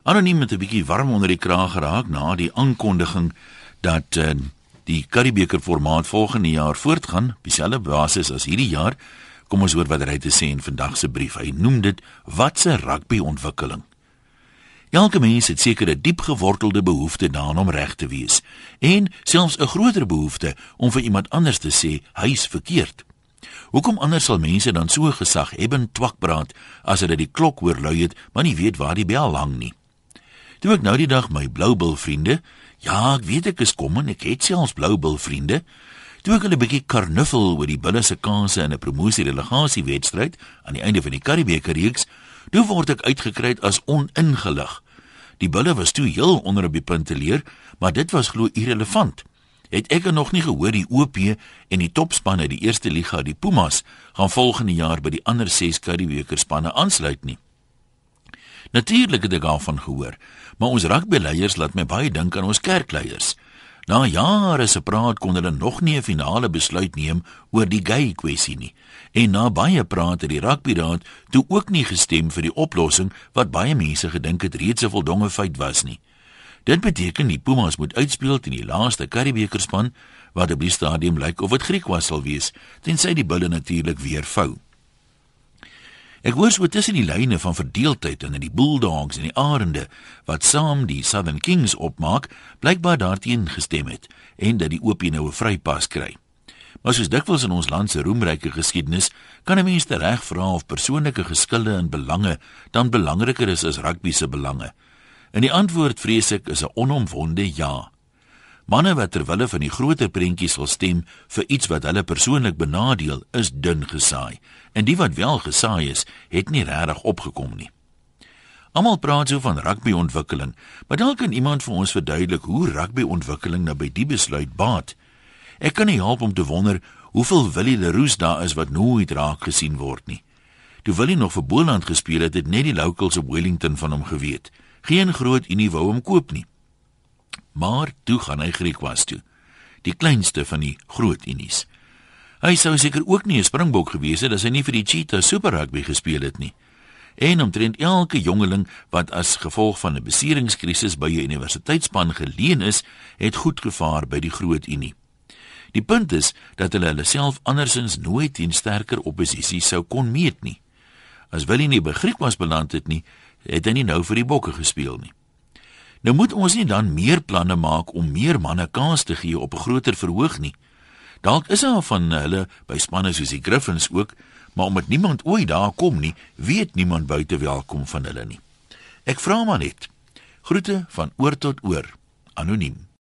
Anoniem het 'n bietjie warm onder die kraag geraak na die aankondiging dat die Curriebeeker formaat volgende jaar voortgaan op dieselfde basis as hierdie jaar. Kom ons hoor wat hy te sê in vandag se brief. Hy noem dit wat 'n rugbyontwikkeling. Elke mens het seker 'n diep gewortelde behoefte daaraan om reg te wees en selfs 'n groter behoefte om vir iemand anders te sê hy's verkeerd. Hoekom anders sal mense dan so gesaghebend twakpraat as hulle die klok hoor lui het, maar nie weet waar die bel hang nie? Toe ek nou die dag my bloubil vriende, ja, ek weet ek is kom en ek het selfs bloubil vriende, toe ek hulle 'n bietjie karnuffel oor die bulle se kanse in 'n promosie-relegasiewedstryd aan die einde van die Curriebeeker reeks, toe word ek uitgekry as oningelig. Die bulle was toe heel onder op die punteleer, maar dit was glo irrelevant. Het ek nog nie gehoor die OP en die topspan uit die eerste liga, die Pumas, gaan volgende jaar by die ander 6 Curriebeeker spanne aansluit nie. Natuurlik het ek daarvan gehoor, maar ons rugbyleiers laat my baie dink aan ons kerkleiers. Na jare se praat kon hulle nog nie 'n finale besluit neem oor die gay kwessie nie. En na baie praat het die rugbyraad toe ook nie gestem vir die oplossing wat baie mense gedink het reeds 'n voldonge feit was nie. Dit beteken die Pumas moet uitspeel teen die laaste Curriebeeker span wat op die stadium lyk of dit Griekwas sal wees, tensy die bulle natuurlik weer vou. Ek hoor so tussen die lyne van verdeeldheid en die Bulldogs en die Arende wat saam die Southern Kings opmaak, blykbaar daarteen gestem het en dat die OP nou 'n vrypas kry. Maar soos dikwels in ons land se roemryke geskiedenis, kan 'n mens reg vra of persoonlike geskille en belange dan belangriker is as rugby se belange. En die antwoord, vrees ek, is 'n onomwonde ja. Manne wat ter wille van die groter prentjies sal stem vir iets wat hulle persoonlik benadeel, is dun gesaai. En die wat wel gesaai is, het nie regtig opgekom nie. Almal praat so van rugbyontwikkeling, maar dalk kan iemand vir ons verduidelik hoe rugbyontwikkeling nou by die besluit baat. Ek kan nie help om te wonder hoeveel Willie Leroux daar is wat nooit raak gesien word nie. Toe Willie nog vir Boland gespeel het, het net die locals op Wellington van hom geweet. Geen groot unie wou hom koop nie. Maar toe gaan hy Griekwas toe, die kleinste van die groot unies. Hy sou seker ook nie 'n springbok gewees het as hy nie vir die Cheetahs Super Rugby gespeel het nie. En omtrent elke jongeling wat as gevolg van 'n beseringskrisis by 'n universiteitsspan geleen is, het goed gevaar by die groot unie. Die punt is dat hulle self andersins nooit teen sterker opposisie sou kon meet nie. As Willie nie by Griekwas beland het nie, het hy nie nou vir die bokke gespeel nie. Nou moet ons nie dan meer planne maak om meer manne kans te gee op 'n groter verhoog nie. Dalk is daar van hulle by spanne soos die Griffins ook, maar omdat niemand ooit daar kom nie, weet niemand buite welkom van hulle nie. Ek vra maar net. Groete van oor tot oor, anoniem.